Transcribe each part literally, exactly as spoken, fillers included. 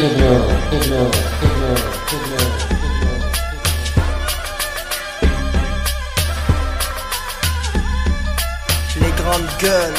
Les grandes gueules.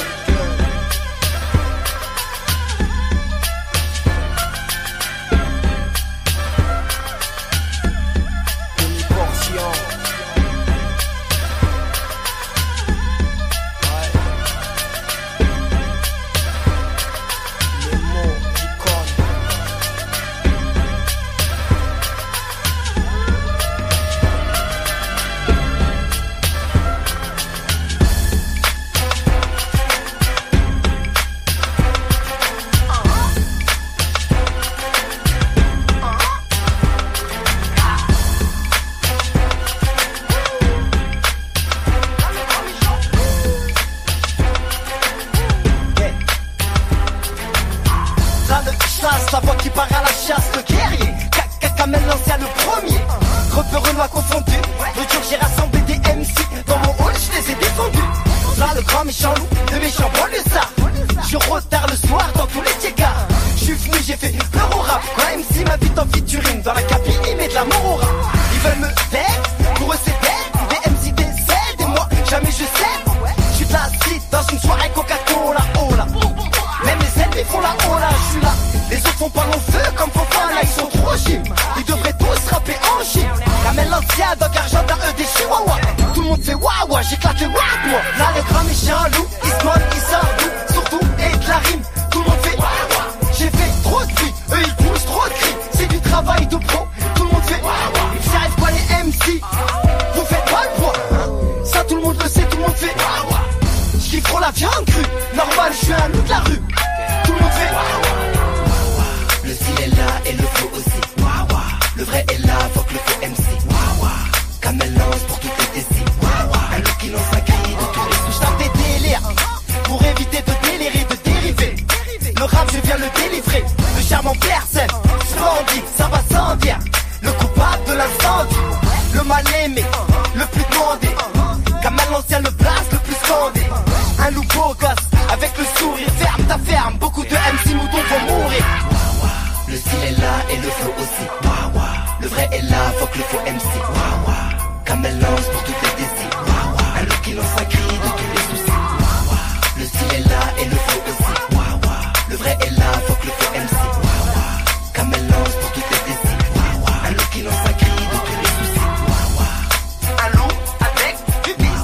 La voix qui part à la chasse, le guerrier Kamel l'ancien le premier. Repéreux m'a confondu. Le jour j'ai rassemblé des M C. Dans mon hall je les ai défendus. Là le grand méchant loup, le méchant banlieusard. Je retard le soir dans tous les tiégards. Je suis venu, j'ai fait peur au rap. Quand M C m'invite en featuring dans la cabine, il met de l'amour au rap. Ils veulent me taire, pour eux c'est dead. Des M C décèdent et moi jamais je cède. Je suis de la cite dans une soirée Coca-Cola. Oh là, même les ennemis font la oh là, je suis là. Les autres font pas long feu comme Fofana, ils sont trop gym. Ils devraient tous rapper en gym. Kamel l'ancien, Dog Argentin, eux des chihuahuas. Tout le monde fait waouh, j'éclate le waouh moi. Là le grand méchant loup, il se moque, il sort d'où surtout et de la rime. Tout le monde fait waouh. J'ai fait trop de cris, eux ils poussent trop de cris. C'est du travail de pro, tout le monde fait waouh. J'arrive pas les M C, vous faites pas le poids. Ça tout le monde le sait, tout le monde fait waouh. J'kiffe trop la viande crue, normal je suis un loup de la rue. Tout le monde fait waouh. Le style est là et le flow aussi. Waouh, le vrai est là, faut que le faux M C. Waouh, Kamel lance pour toutes les décis. Waouh, un look qui lance un cri de tous les souches. J'tends des délires pour éviter de délirer, de dériver. Le rap, je viens le délivrer. Le charme en personne, splendide, ça va sans dire. Le coupable de l'incendie, le mal aimé, le plus demandé. Kamel l'ancien, le blast, le plus scandé. Un loup beau gosse, avec le sourire. Ferme ta ferme, beaucoup de M C moutons vont mourir. Le style est là et le flow aussi. Waouh, le vrai est là, faut que le faux M C. Waouh, Kamel lance pour toutes les décis. Waouh, un look qui lance un cri de tous les soucis. Waouh, le style est là et le flow aussi. Waouh, le vrai est là, faut que le faux M C. Waouh, Kamel lance pour toutes les décis. Waouh, un look qui lance un cri de tous les soucis. Waouh, un loup avec du bis.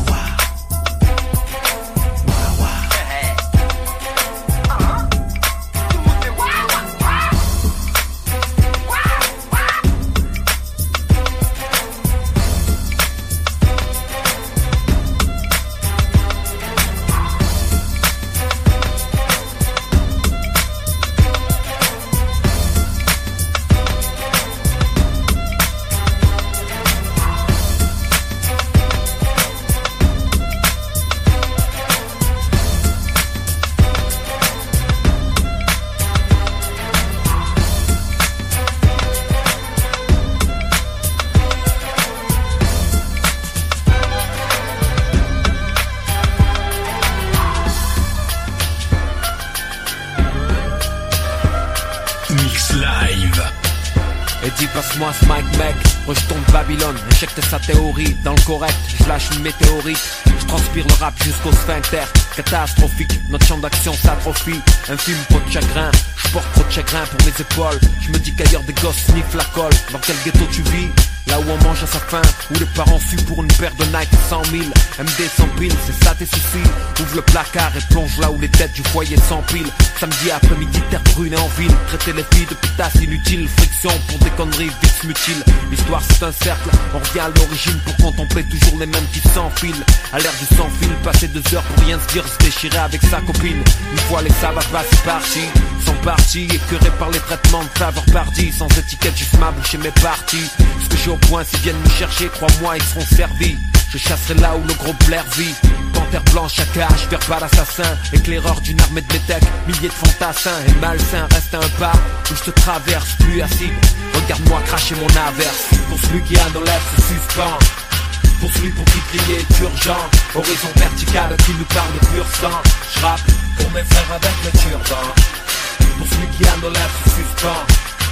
Et dis passe-moi ce mic mec, rejetons de Babylone. Échec de sa théorie, dans le correct, je lâche une météorite. Je transpire le rap jusqu'au sphincter. Catastrophique, notre champ d'action s'atrophie. Un film, pas de chagrin, je porte trop de chagrin pour mes épaules. Je me dis qu'ailleurs des gosses sniffent la colle. Dans quel ghetto tu vis? Là où on mange à sa faim, où les parents fuient pour une paire de Nike cent mille. M D sans pile, c'est ça tes soucis. Ouvre le placard et plonge là où les têtes du foyer s'empilent. Samedi après-midi, terre brune et en ville. Traiter les filles de putasses inutiles. Friction pour des conneries vite mutiles. L'histoire c'est un cercle, on revient à l'origine pour contempler toujours les mêmes qui s'enfilent. À l'ère du sans-fil, passer deux heures pour rien se dire, se déchirer avec sa copine. Une fois les sabbats passés partis, sont partis, écœurés par les traitements de faveur pardi. Sans étiquette, juste ma bouche et mes parties. Ce que j'ai au point, s'ils viennent me chercher, crois-moi, ils seront servis. Je chasserai là où le gros blaire vit. Panthère blanche à cage, verbal assassin. Éclaireur d'une armée de métèques, milliers de fantassins. Et malsain, reste un pas où je te traverse, plus assis. Regarde-moi cracher mon averse. Pour celui qui a dans l'air se suspend. Pour celui pour qui crier est urgent. Horizon vertical qui nous parle de pur sang. J'rappe pour mes frères avec le turban. Pour celui qui a dans l'air se suspend.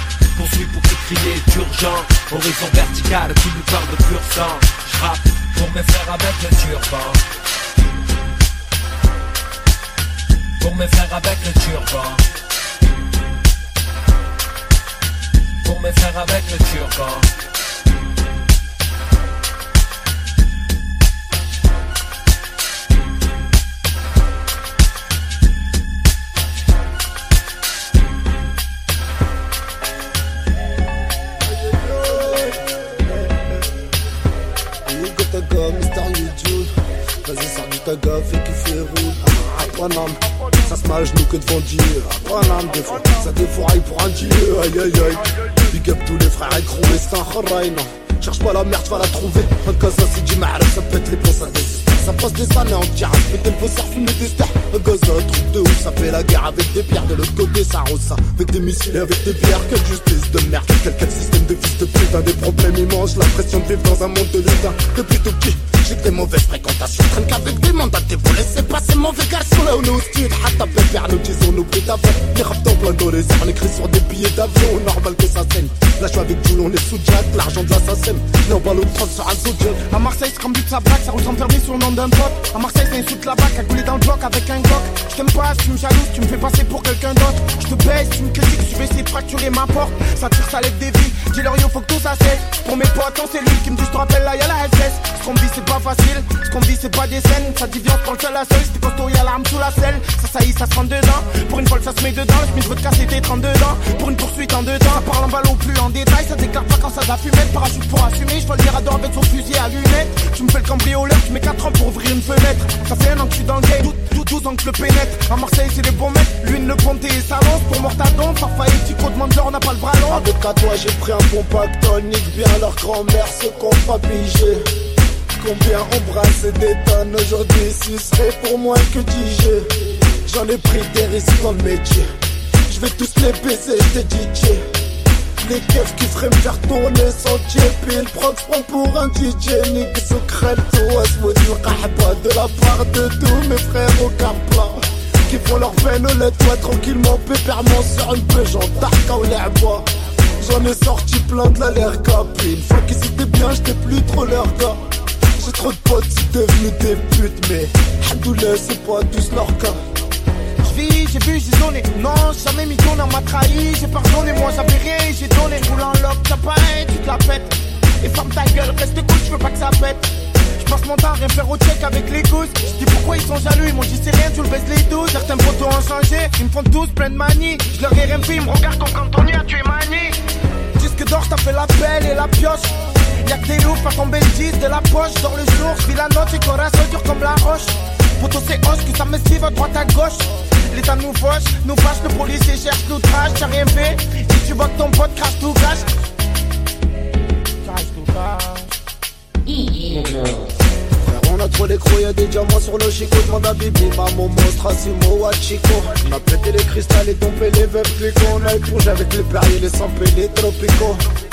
construit pour te crier d'urgent. Horizon vertical, qui nous parle de pur sang. J'rappe pour mes frères avec le turban. Pour mes frères avec le turban. Pour mes frères avec le turban. Vas-y, sors du taga, fais kiffer, roule. Aprenam, ça se mâche nous que devant Dieu. Aprenam, des fois, ça défouraille pour un dieu. Aïe aïe aïe. Big up tous les frères écrous, les stars, raï, non. Cherche pas la merde, va la trouver. Un cas, ça c'est du mal, ça pète les plombs, ça désiste. Ça passe des années en tirage, péter le faussaire, fumer des stars. Un gaz, un truc de ouf, ça fait la guerre avec des pierres. De l'autre côté, ça rose ça. Avec des missiles et avec des pierres. Quelle justice de merde, quel, quel système de fils de putain. Des problèmes immenses, la pression de vivre dans un monde de lutin. Depuis tout petit, j'ai que des mauvaises fréquentations. Traîne qu'avec des mandats, vous laissez passer mauvais garçons. Là où nous style, hatta pépère, nous disons nos bruits d'avant. Les raptors plein dans les airs, on écrit sur des billets d'avion. Normal que ça saigne. Là, je suis avec Jules, on est sous Jack, l'argent de l'assassin. Là, on balle au trente sur un zodiac. À Marseille, c'est comme but de sa blague, ça roule sans permis sur le nom d'un pote. À Marseille, c'est insulte la bac, à couler dans le bloc avec un glock. Je t'aime pas, tu me jalouses, tu me fais passer pour quelqu'un d'autre. Je te baisse, tu me critiques, je vais essayer de fracturer ma porte. Ça tire, ça lève des vies, dis-leur yo, faut que tout ça cesse. Pour mes potes, c'est lui qui me dit, je te rappelle là, y'a la S S. Ce qu'on vit, c'est pas facile, ce qu'on vit, c'est pas des scènes. Ça dit, viens, on prend le seul à seul, c'était costaud, y'a l'arme sous la selle. Ça, ça y est, ça se rentre dedans. Pour une folle, ça se met dedans. Je me veux te casser tes trente-deux dents. Pour une poursuite en deux temps, ça parle en ballon plus en détail. Ça déclare pas quand ça da fumette. Parachute pour assumer, je vois le mirador avec son fusil à lunettes. Tu me fais le cambrioleur, tu mets quatre ans pour ouvrir une fenêtre. Ça fait un an que je suis dans le game, douze ans que je le pénètre. À Marseille, c'est les bons mecs, l'une le ponté et salon. Pour Mortadon, Fafa et Tico, demande-leur, on n'a pas le bras long. Avec à toi, j'ai pris un bon pactole. Nique bien leur grand-mère, ceux qu'on pas pigé. Combien embrasse et détonne aujourd'hui, ce serait pour moi que D J. J'en ai pris des risques dans le métier. Je vais tous les baiser, j'étais D J. Les keufs qui feraient me faire tourner sans pied. Puis le proc se prend pour un D J. Nique secrète, ou asmoudi l'qahba. De la part de tous mes frères au car plat qui font leur veine au lait, toi tranquillement, pépèrement sur une pêche en tarka ou l'herbois. J'en ai sorti plein de la l'air capé. Une fois qu'ils étaient bien, j'étais plus trop leur gars. J'ai trop de potes, c'est devenu des putes. Mais Hamdoullah, c'est pas tous leur cas. J'vis, j'ai vu, j'ai donné. Non, jamais mis ton, on m'a trahi. J'ai pardonné, moi j'avais rien, j'ai donné. Roule en lock, t'as pareil, tu te la pètes. Et ferme ta gueule, reste cool, je veux pas que ça pète. J'passe mon temps à rien faire au check avec les gousses. J'dis pourquoi ils sont jaloux, ils m'ont dit c'est rien, tu le baisses les douze. Certains photos ont changé, ils me font tous plein de manies. J'leur ai rien fait, ils me regardent comme quand on y a tué Mani. Disque d'or, j't'as fait la pelle et la pioche. Y'a que des loups, pas tomber le dix de la poche. Dans le jour, j'vis la note, et corazon dur comme la roche. Poto c'est hoche, que ça me suive à droite à gauche. L'état nous fauche, nous fâche, le policier cherche l'outrage. T'as rien fait, si tu vois que ton pote crache tout cache. Crache tout cache. On a trop l'écrou, y'a des diamants sur le chico. Demande à Bibi, maman, monstre, Asimo, Wachiko. On a pété les cristals et tombé les veuves clico. On a éplongé avec les perriers, les samples et les tropicaux.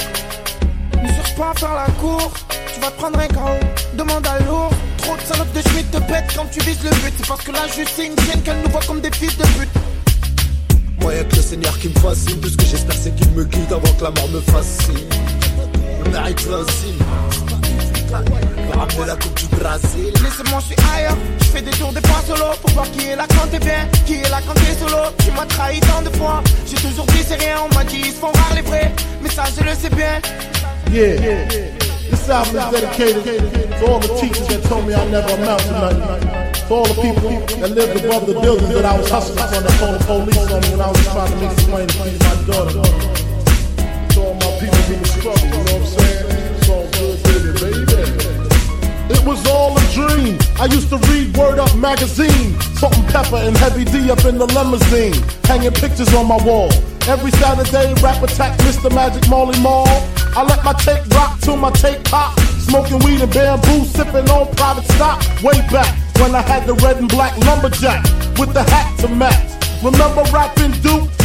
Ne cherche pas à faire la cour, tu vas te prendre un K O. Demande à lourd, trop de salopes de schmitt te pètent quand tu vises le but. C'est parce que là juste c'est une chienne qu'elle nous voit comme des fils de pute. Moi y'a que le Seigneur qui me fascine. Tout ce que j'espère c'est qu'il me guide avant que la mort me fascine. Le mérite facile. Ramener la coupe du Brésil. Laissez-moi, je suis ailleurs. Je fais des tours des fois solo pour voir qui est là quand t'es bien, qui est là quand t'es solo. Tu m'as trahi tant de fois. J'ai toujours dit c'est rien. On m'a dit ils se font rares les vrais. Mais ça je le sais bien. Yeah, this album is dedicated to all the teachers that told me I never amount to nothing. For all the people that lived above the buildings that I was hustling from, that called the police on me when I was trying to make some money to feed my daughter. To all my people who were struggling, you know what I'm saying? It's all good, baby, baby. It was all a dream. I used to read Word Up magazine. Salt and Pepper and Heavy D up in the limousine. Hanging pictures on my wall. Every Saturday, rap attack Mister Magic Molly Mall. I let my tape rock till my tape pop. Smoking weed and bamboo, sipping on private stock. Way back when I had the red and black lumberjack with the hat to match. Remember rapping Duke?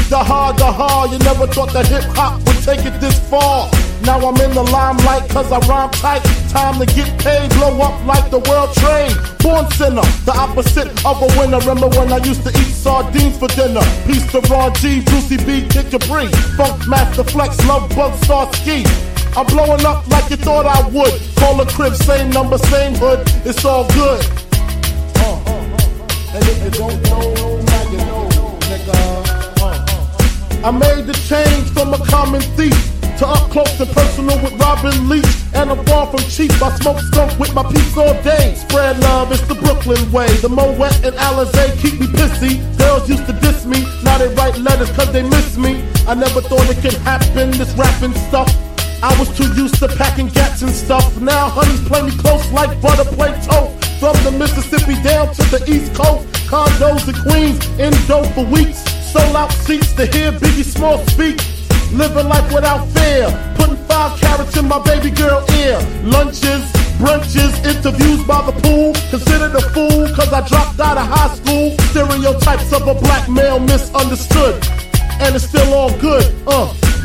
the hard, the hard. You never thought that hip hop would take it this far. Now I'm in the limelight cause I rhyme tight. Time to get paid, blow up like the world trade. Born sinner, the opposite of a winner. Remember when I used to eat sardines for dinner? Peace to Ron G, Brucey B, Kid Capri, Funk Master Flex, Love Bug, Star Ski. I'm blowing up like you thought I would. Call a crib, same number, same hood. It's all good. Uh, uh, uh. And if you don't know, now you know, nigga. Uh, uh. I made the change from a common thief to up close and personal with Robin Leach. And I'm far from cheap, I smoke skunk with my peeps all day. Spread love, it's the Brooklyn way. The Moet and Alizé keep me pissy. Girls used to diss me, now they write letters cause they miss me. I never thought it could happen, this rapping stuff. I was too used to packing gats and stuff. Now honeys play me close like butter play toast. From the Mississippi down to the East Coast. Condos in Queens, in dough for weeks. Sold out seats to hear Biggie Small speak. Living life without fear, putting five carats in my baby girl ear. Lunches, brunches, interviews by the pool. Considered a fool cause I dropped out of high school. Stereotypes of a black male misunderstood. And it's still all good, uh.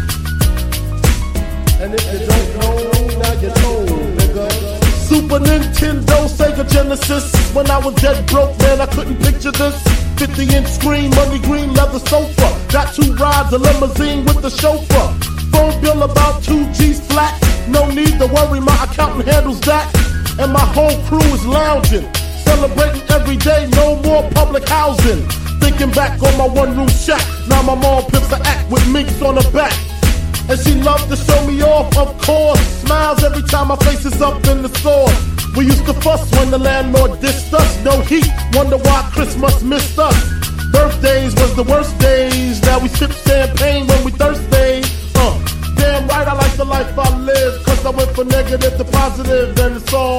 And if you don't know, now you know, nigga. Super Nintendo, Sega Genesis. When I was dead broke, man, I couldn't picture this. fifty inch screen, money green, leather sofa. Got two rides, a limousine with the chauffeur. Phone bill about two G's flat. No need to worry, my accountant handles that. And my whole crew is lounging. Celebrating every day, no more public housing. Thinking back on my one room shack. Now my mom pimps an act with minks on her back. And she loved to show me off, of course. Smiles every time my face is up in the store. We used to fuss when the landlord dissed us. No heat, wonder why Christmas missed us. Birthdays was the worst days. Now we sip champagne when we thirsty. Uh, damn right I like the life I live. Cause I went from negative to positive, then it's all.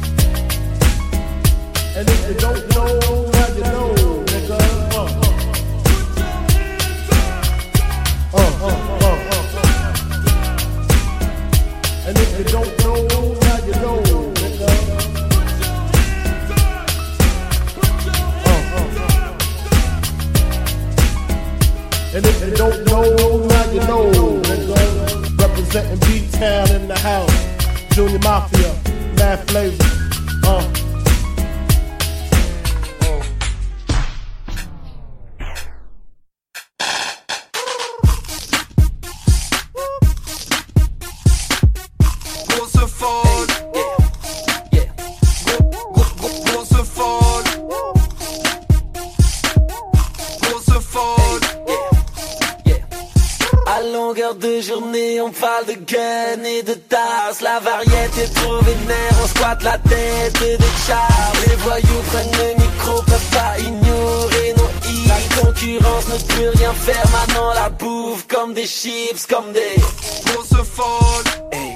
And if you don't know, now you know, nigga. Uh, uh, uh, uh. And if you don't know, now you know, nigga. Uh, uh. And if you don't know, now you know, nigga. Representing B-Town in the house. Junior Mafia, Mad Flavor. Uh. De journée, on parle de gun et de tasse. La variété est trop vénère, on squatte la tête des chars. Les voyous prennent le micro, peuvent pas ignorer nos hits. La concurrence ne peut rien faire, maintenant la bouffe comme des chips, comme des grosses folles. Hey.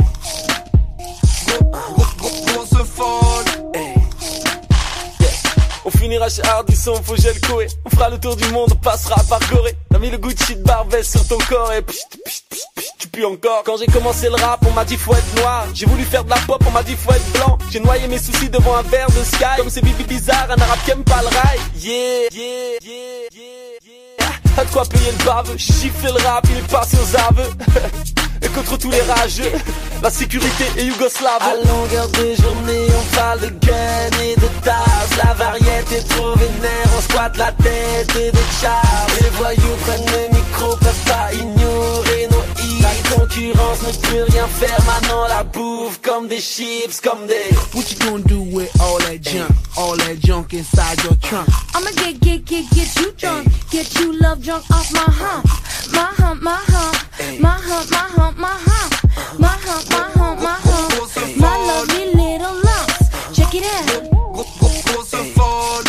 Grosses folles. Hey. Yeah. On finira chez Hardisson, faut gel coé. On fera le tour du monde, on passera par Gorée. T'as mis le Gucci de Barbès sur ton corps et pchit, pchit, pchit, pchit, tu pues encore. Quand j'ai commencé le rap, on m'a dit faut être noir. J'ai voulu faire de la pop, on m'a dit faut être blanc. J'ai noyé mes soucis devant un verre de Sky. Comme c'est Bibi bizarre, un arabe qui aime pas le rail. Yeah, yeah, yeah, yeah, yeah. A de quoi payer le bave, j'ai giflé le rap, il est passé aux aveux. Et contre tous les rageux, la sécurité est yougoslave. À longueur de journée, on parle de gun et de tasse. La variété est trop vénère, on squatte la tête des chars. Les voyous prennent le micro, peuvent pas ignorer nos hits. La concurrence ne peut rien faire, maintenant la bouffe comme des chips, comme des. What you gonna do with all that junk, all that junk inside your trunk? I'ma get, get, get, get you drunk, get you love drunk off my hump, my hump, my hump, my hump, my hump, my hump, my hump, my hump, my hump, my lovely little lumps. Check it out. Grosse folle.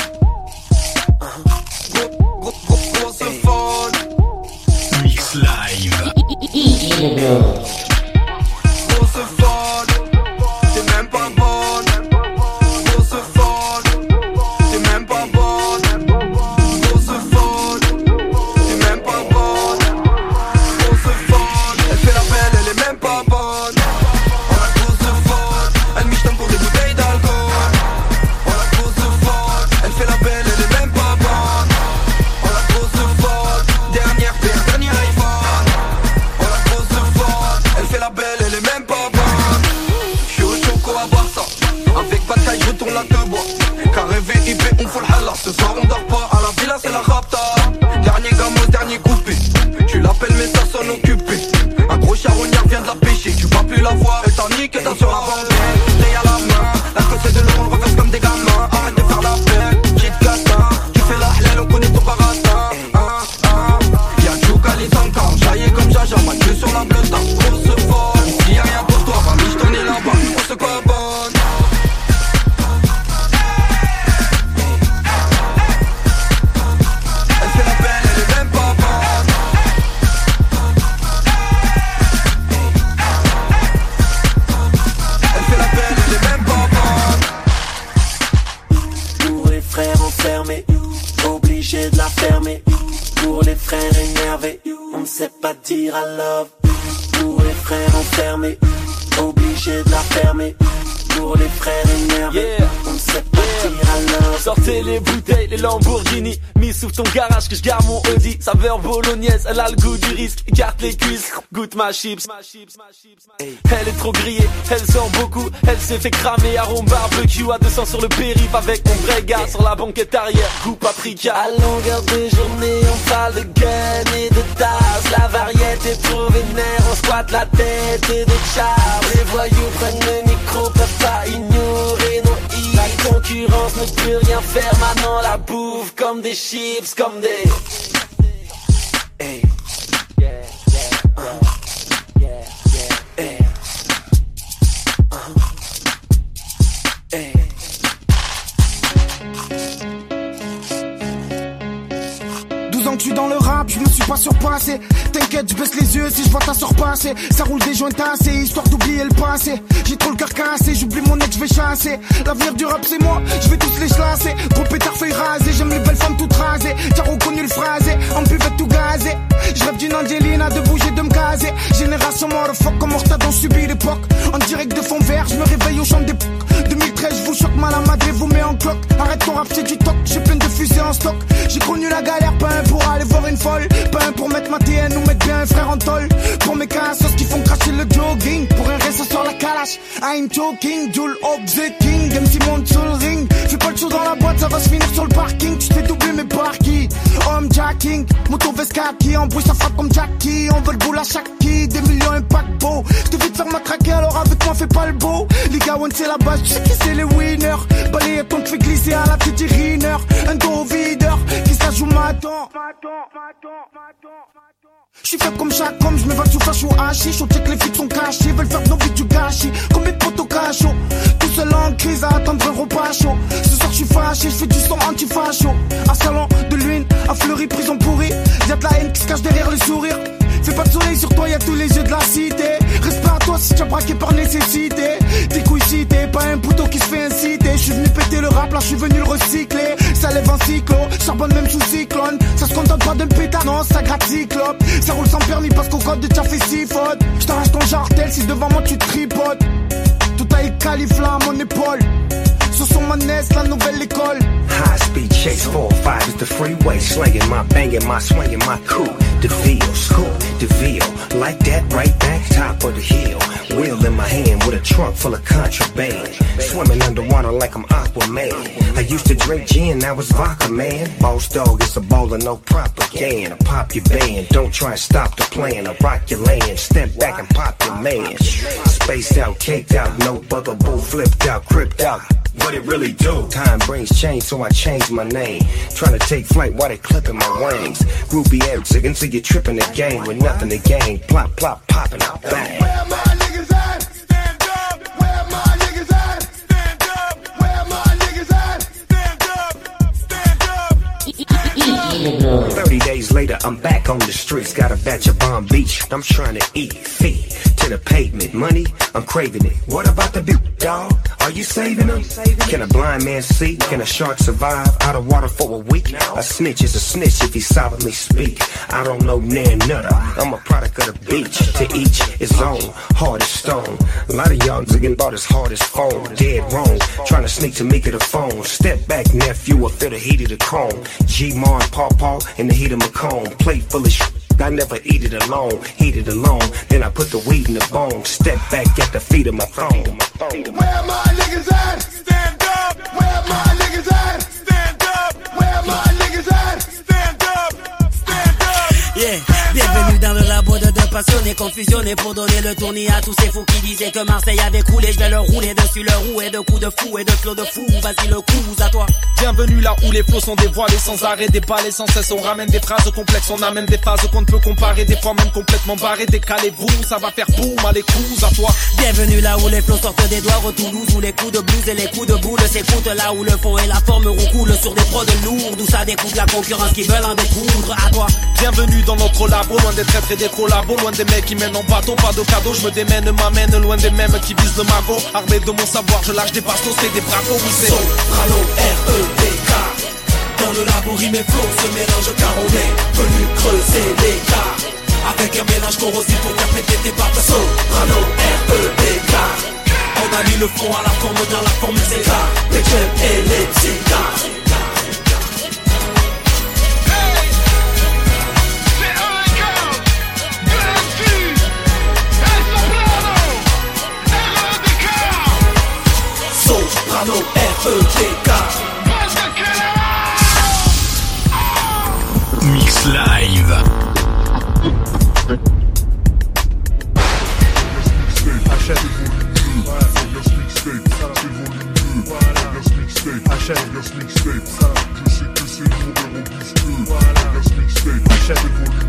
Grosse folle. Mix live. Grosse folle. T'es même pas bonne. Grosse folle. T'es même pas bonne. Grosse folle. T'es même pas bonne. Grosse folle. Elle fait la belle, elle est même pas bonne. Oh la grosse folle. Elle miche pour des bouteilles d'alcool. Oh la grosse folle. Elle fait la belle, elle est même pas bonne. Oh la grosse folle. Dernière paire. que t'as sur la banquette. T'es à la main, la côté de l'eau, on reverse comme des gamins. Arrête de faire la peine, petite catin. Tu fais la halal, on connaît ton baratin. Hein, hein. Y'a Tchouka les encore, jaillé comme Jaja, moi tu sur la bleue, t'as grosse folle. S'il y a rien pour toi, famille, je t'en ai là-bas, on se cobonne. Elle fait la belle, elle est même pas bonne. Elle fait la belle, elle est même pas bonne. Pour les frères enfermés, obligé de la fermer. Pour les frères énervés, on ne sait pas dire I love. Pour les frères enfermés, obligé de la fermer. Pour les frères énervés, yeah. On ne sait pas yeah. dire I love. Sortez les bouteilles, les Lamborghini. Mis sous ton garage que je garde mon Audi. Saveur bolognaise, elle a le goût du risque. Écarte les cuisses, goûte ma chips. Elle est trop grillée, elle sort beaucoup. Elle s'est fait cramer, arôme barbecue. À deux cents sur le périph' avec mon vrai gars. Sur la banquette arrière, goût paprika. À longueur de journée, on parle de gun et de tasse. La variété est trop vénère, on squatte la tête et de char. Les voyous prennent le micro, peuvent pas ignorer nos hits. La concurrence ne peut rien faire, maintenant la bouffe comme des chips, comme des... Hey. Yeah, yeah, uh. yeah, yeah, hey. Uh. Hey. douze ans que je suis dans le rap, je me suis pas surpassé. T'inquiète, je baisse les yeux si je vois ta sœur passer. Ça roule des joints tassés, histoire d'oublier le passé. J'ai trop le cœur cassé, j'oublie mon ex, je vais chasser. L'avenir du rap c'est moi, je vais tous les chlasser. Gros pétard feuille rasée, j'aime les belles femmes toutes rasées. T'as reconnu le phrasé, en buvette tout gazé. Je rêve d'une Angelina, de bouger, de me caser. Génération motherfuck, comme Horta dont subit l'époque. En direct de fond vert, je me réveille au champ des deux mille treize, je vous choque, mal à madre, vous met en cloque. Arrête ton rap, c'est du toc, j'ai plein de fusées en stock. J'ai connu la galère, pas un pour aller voir une folle. Pas un pour mettre ma T N ou mettre bien un frère en tôle. Pour mes cassos qui font cracher le jogging. Pour un reste sur la calache, I'm joking. Joule up the king, M C monte sur le ring. Fais pas le show dans la boîte, ça va se finir sur le parking. Tu te fais doubler mais par qui? Homme jacking, moto Vescaki. En bruit ça frappe comme Jackie. On veut le boule à chaque qui, des millions un paquebot. Je te fais te faire matraquer alors avec moi fais pas le beau. Liga one c'est la base, tu sais qui c'est les winners. Balayer ton te fait glisser à la petite riner. Un dos videur, qui ça joue maintenant. J'suis fait comme chaque homme, j'm'évade sous flash ou hachiche. On check les filles sont cachées, veulent faire de nos vies du gâchis. Combien de potes au cachot, tout seul en crise à attendre un repas chaud. Ce soir j'suis fâché, j'fais du son anti-facho. À salon de l'huile, à Fleury, prison pourrie. Y'a de la haine qui se cache derrière le sourire. Fais pas de soleil sur toi, y'a tous les yeux de la cité. Respect à toi si t'as braqué par nécessité. Tes couilles citées, pas un poutot qui se fait inciter. J'suis venu péter le rap, là j'suis venu le recycler. Ça lève un cyclo, charbonne même sous cyclone. Ça se contente pas d'un pétard, non, ça gratte cyclope. Ça roule sans permis parce qu'au code de t'as fait six fautes. J't'arrache ton jartel si devant moi tu tripotes. Tout a califla à mon épaule. Sur son manès, la nouvelle école. High speed chase four oh five is the freeway. Slanging my banging my swinging my cool. DeVille, school, DeVille. Like that right back top of the hill. Wheel in my hand with a trunk full of contraband. Swimming underwater like I'm Aquaman. I used to drink gin, now it's vodka, man. Boss dog, it's a bowler, no propaganda. Pop your band, don't try and stop the plan. I rock your land, step back and pop your man. Spaced out, caked out, no bugaboo, flipped out, cripped out. What it really do? Time brings change, so I changed my name. Trying to take flight while they clipping my wings. Groupie ass, until you're tripping the game with nothing to gain. Plop, plop, popping out bang. Where my niggas at? Stand up. Where my niggas at? Stand up. Where my niggas at? Stand up. Stand up. Thirty days later, I'm back on the streets. Got a batch of Palm Beach. I'm trying to eat feet to the pavement. Money, I'm craving it. What about the big dog? Are you saving them? Can a blind man see? Can a shark survive out of water for a week? A snitch is a snitch if he solidly speak. I don't know nan nutter. I'm a product of the beach. To each his own. Hard as stone. A lot of y'all getting about as hard as phone. Dead wrong. Trying to sneak to me to the phone. Step back, nephew. I feel the heat of the chrome. G-Mar and Paw Paw in the heat of my cone. Plate full of shit. I never eat it alone, heat it alone. Then I put the weed in the bone. Step back at the feet of my throne. Where my niggas at? Stand up. Where my niggas at? Stand up. Where my niggas at? Stand up. Stand up. Yeah, bienvenue dans le labo de deux passionnés confusionnés pour donner le tournis à tous ces fous qui disaient que Marseille avait coulé. Je vais leur rouler dessus leur roue et de coups de fou et de flots de fou. Vas-y le coup à toi. Bienvenue là où les flots sont dévoilés sans arrêt, déballés sans cesse. On ramène des phrases complexes, on a même des phases qu'on ne peut comparer, des fois même complètement barrées. Décalez-vous, ça va faire boum à les coups à toi. Bienvenue là où les flots sortent des doigts, au Toulouse où les coups de blues et les coups de boule s'écoutent, là où le fond et la forme roucoulent sur des prods lourds, d'où ça découpe la concurrence qui veulent en découdre à toi. Bienvenue dans notre labo, loin des traîtres et des collabos, loin des mecs qui mènent en bateau, pas de cadeaux. Je me démène, m'amène, loin des mêmes qui visent le magot. Armé de mon savoir, je lâche des bastos, c'est des bracos, oui c'est Soprano, R E D K. Dans le labo, rime et flow se mélangent car on est venu creuser l'écart. Avec un mélange corrosif pour faire péter tes barres. Soprano, R E D K. On a mis le fond à la forme dans la formule c'est là. Les clubs et les psychiatres. Soprano, R E D K. Mix Live. Achète Achète je sais que c'est lourd et robuste. Achète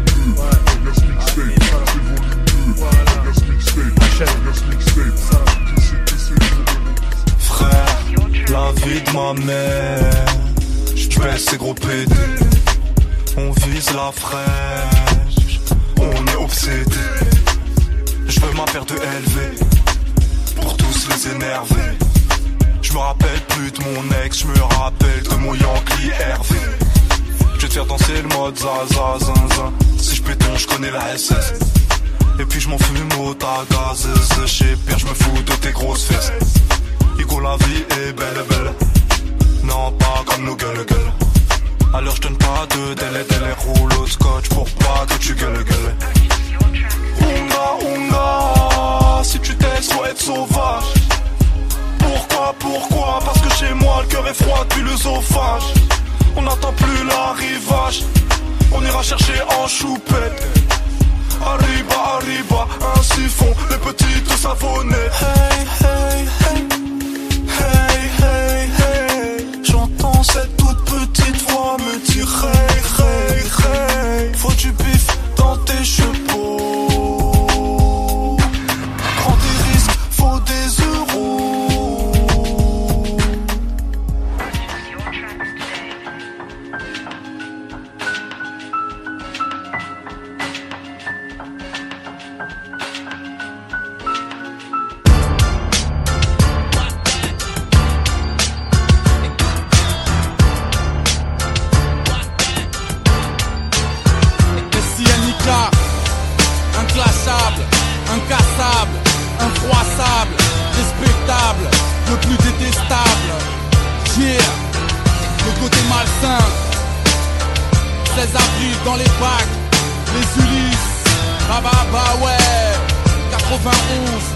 Frère, la vie de ma mère, j'baisse ces gros pédés. On vise la fraîche, on est obsédé. J'veux ma paire de L V, pour tous les énerver. J'me rappelle plus de mon ex, j'me rappelle de mon Yankee Hervé. J'vais te faire danser le mode zaza zinzin. Si j'pétonne, j'connais la S S. Et puis j'm'en fume au tagazeuse. J'sais pire, j'me fous de tes grosses fesses. Igo, la vie est belle, belle. Non, pas comme nos gueules, gueules. Alors j'donne pas de délai, délai. Roule au scotch pour pas que tu gueules, gueules. Unga, unga, si tu t'aimes, faut être sauvage. Pourquoi, pourquoi? Parce que chez moi le cœur est froid depuis l'œsophage. On n'attend plus l'arrivage, on ira chercher en choupette. Arriba, arriba, ainsi font les petites savonnées. Hey, hey, hey, hey, hey, hey. J'entends cette toute petite voix me dire hey, hey, hey. Faut du bif dans tes chevaux. Prends des risques, faut des euros. Inclassable, incassable, infroissable, respectable, le plus détestable. Yeah, le côté malsain. seize avril dans les bacs, les Ulysses. Ah bah bah ouais, quatre-vingt-onze.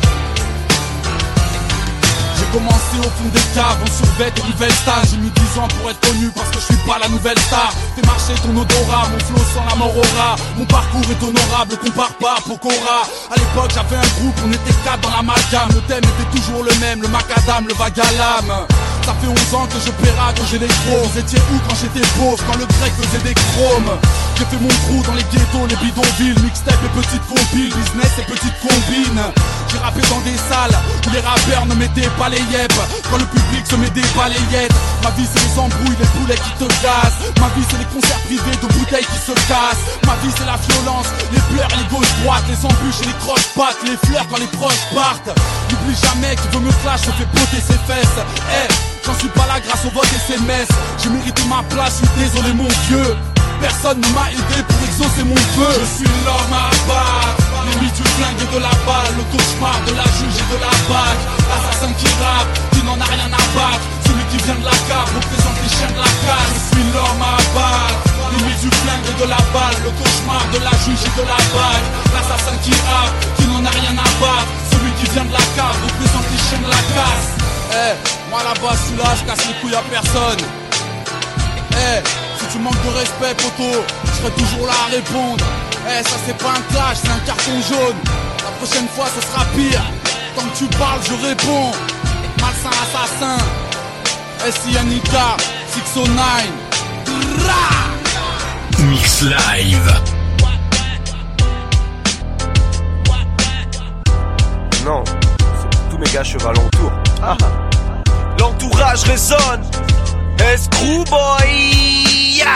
J'ai commencé au fond des caves, on survêt des nouvelles stars. J'ai mis dix ans pour être connu parce que je suis pas la nouvelle star. Fais marcher ton odorat, mon flow sans la mort aura. Mon parcours est honorable, compare pas à Pokora. À l'époque j'avais un groupe, on était quatre dans l'amalgame. Le thème était toujours le même, le macadam, le vague à l'âme. Ça fait onze ans que je paiera, que j'ai les gros. Vous étiez où quand j'étais pauvre, quand le grec faisait des chromes? J'ai fait mon trou dans les ghettos, les bidonvilles. Mixtape et petites compiles, business et petites combines. J'ai rappé dans des salles où les rappeurs ne mettaient pas les yep. Quand le public se met des balayettes. Ma vie c'est les embrouilles, les poulets qui te gazent. Ma vie c'est les concerts privés de bouteilles qui se cassent. Ma vie c'est la violence, les pleurs, les gauches-droites, les embûches et les croche-pattes, les fleurs quand les proches partent. N'oublie jamais qui veut me clash, se fait poter ses fesses. Hey, j'en suis pas là grâce au vote S M S. J'ai mérité ma place, je suis désolé mon vieux. Personne ne m'a aidé pour exaucer mon feu. Je suis l'homme à battre, l'ennemi du flingue et de la balle, le cauchemar de la juge et de la bague. L'assassin qui rappe, qui n'en a rien à battre. Celui qui vient de la cave, représente les chiens de la cage. Je suis l'homme à battre, l'ennemi du flingue et de la balle, le cauchemar de la juge et de la bague. L'assassin qui rappe, qui n'en a rien à battre. Celui qui vient de la cave, représente les chiens de la casse. Eh, hey, moi là-bas, je suis là, je casse les couilles à personne. Eh, hey, si tu manques de respect, poto, je serai toujours là à répondre. Eh, ça c'est pas un clash, c'est un carton jaune. La prochaine fois, ce sera pire. Tant que tu parles, je réponds. Malsain assassin. S I N I K, six oh nine. Mix Live. Non, c'est tous mes gars cheval autour. Ah. L'entourage résonne. Escrew boy, yeah.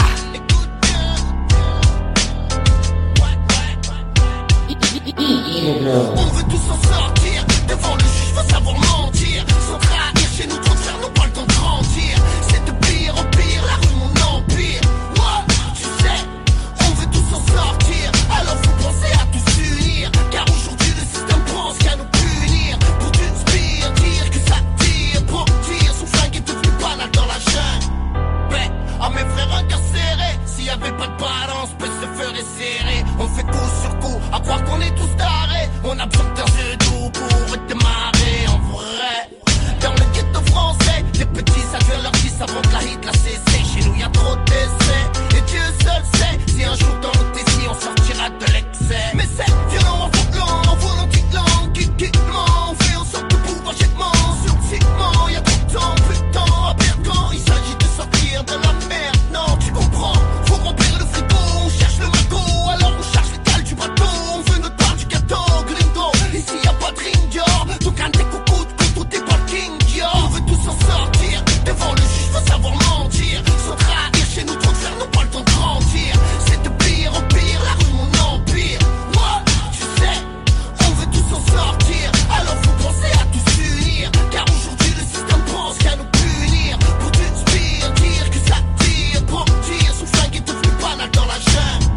On veut tous s'en sortir. Devant le juge, faut savoir mentir. Sans trahir, chez nous, trop de faire, n'ont pas le temps de grandir. C'est de pire en pire, la rue, mon empire. Ouais, tu sais, on veut tous s'en sortir. Alors faut penser à tous unir. Car aujourd'hui, le système pense qu'à nous punir. Pour d'une spire, dire que ça tire. Pour dire, son flingue est devenu banal dans la jungle. Mais, à mes frères incarcérés, s'il y avait pas de balance, peut se ferait serrer. On fait coup sur coup, à croire qu'on est tous tarés. On a besoin d'un jeu d'eau pour démarrer en vrai. Dans le ghetto français, les petits saluent leur fils avant que la hit la cessé. Chez nous y'a trop d'essais, et Dieu seul sait si un jour dans notre défi on sortira de l'excès. Mais c'est violent, volant, volontiquement, kikiquement. On fait en sorte de pouvoir jetement sur le ciment. Y'a trop de temps, plus de temps à perdre quand il s'agit de sortir de la merde. Non, tu comprends, faut remplir le frigo. On cherche le magot, alors on cherche les cales du bateau. On veut notre part du gâteau, gringo. Ici y'a pas de ring, donc un des coucous de tout est pas le king, yo. On veut tous s'en sortir, devant le juge, faut savoir mentir. Sans trahir, chez nous trop de faire, n'ont pas le temps de grandir. C'est de pire en pire, la rue, mon empire. Moi, tu sais, on veut tous s'en sortir. Alors faut penser à tous unir. Car aujourd'hui, le système pense qu'à nous punir. Pour d'une spire, dire que ça tire. Pour dire, son flingue est devenu banal dans la jungle.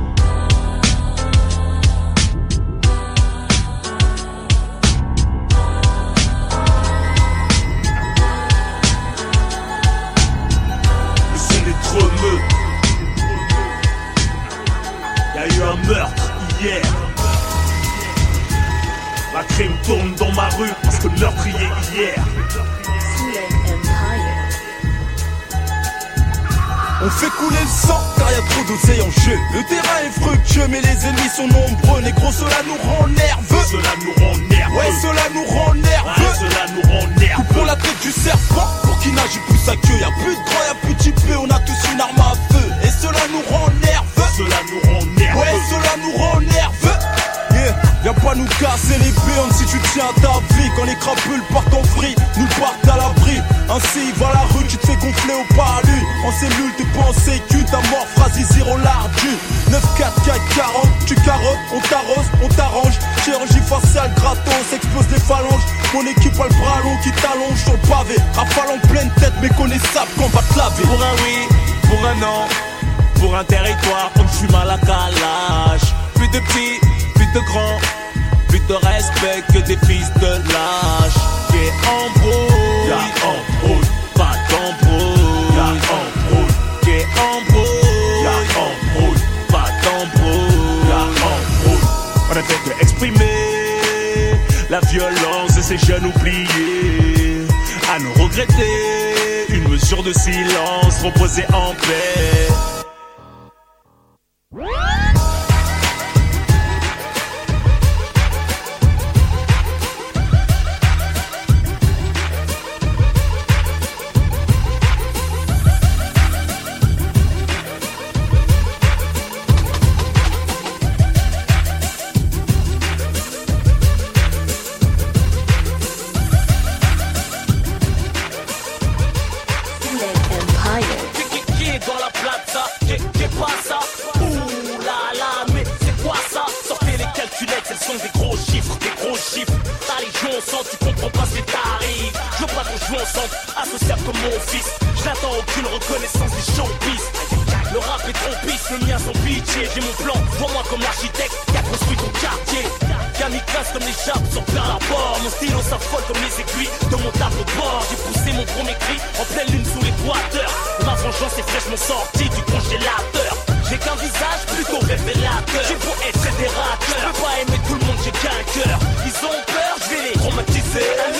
Le son des tremeux. Y'a eu un meurtre hier. La crime tourne dans ma rue parce que le meurtrier hier. On fait couler le sang car y'a trop d'oseille en jeu. Le terrain est fructueux mais les ennemis sont nombreux. Négro, cela nous rend nerveux. Cela nous rend nerveux. Ouais, cela nous rend nerveux. Ouais, cela nous rend nerveux. Coupons la tête du serpent pour qu'il nage plus sa queue. Y'a plus de grand, y'a plus de type, on a tous une arme à feu. Et cela nous rend nerveux. Cela nous rend nerveux. Ouais, cela nous rend nerveux. Yeah, viens pas nous casser les burnes si tu tiens ta vie. Quand les crapules partent en vrille, nous partent à l'abri. Ainsi va la rue, tu te fais gonfler au parlu. En cellule, t'es pas en sécu, ta mort phrase zéro lardu. neuf quatre quatre quarante, tu carottes, on t'arrose, on t'arrange. Chirurgie faciale, gratos, explose les phalanges. Mon équipe a le bras long qui t'allonge sur le pavé. Rafale en pleine tête, méconnaissable qu'on va te laver. Pour un oui, pour un non, pour un territoire, on fume à la calage. Plus de petits, plus de grands, plus de respect que des fils de lâche. Qui embrouille, y'a embrouille, pas d'embrouille. Y'a embrouille, qui embrouille, y'a embrouille, pas d'embrouille. Y'a embrouille. On a fait que exprimer la violence de ces jeunes oubliés. À nous regretter, une mesure de silence, reposer en paix. Associable comme mon fils, je n'attends aucune reconnaissance des showbiz. Le rap est trop pisse, le mien son pitié. J'ai mon plan, vois-moi comme l'architecte qui a construit ton quartier. Kamikaze comme les chapes sur plein rapport. Mon stylo s'affole comme les aiguilles de mon tableau de bord. J'ai poussé mon premier cri en pleine lune sous l'équateur. Ma vengeance est fraîchement sortie du congélateur. J'ai qu'un visage plutôt révélateur. J'ai beau être fédérateur, je peux pas aimer tout le monde, j'ai qu'un cœur. Ils ont peur, je vais les traumatiser.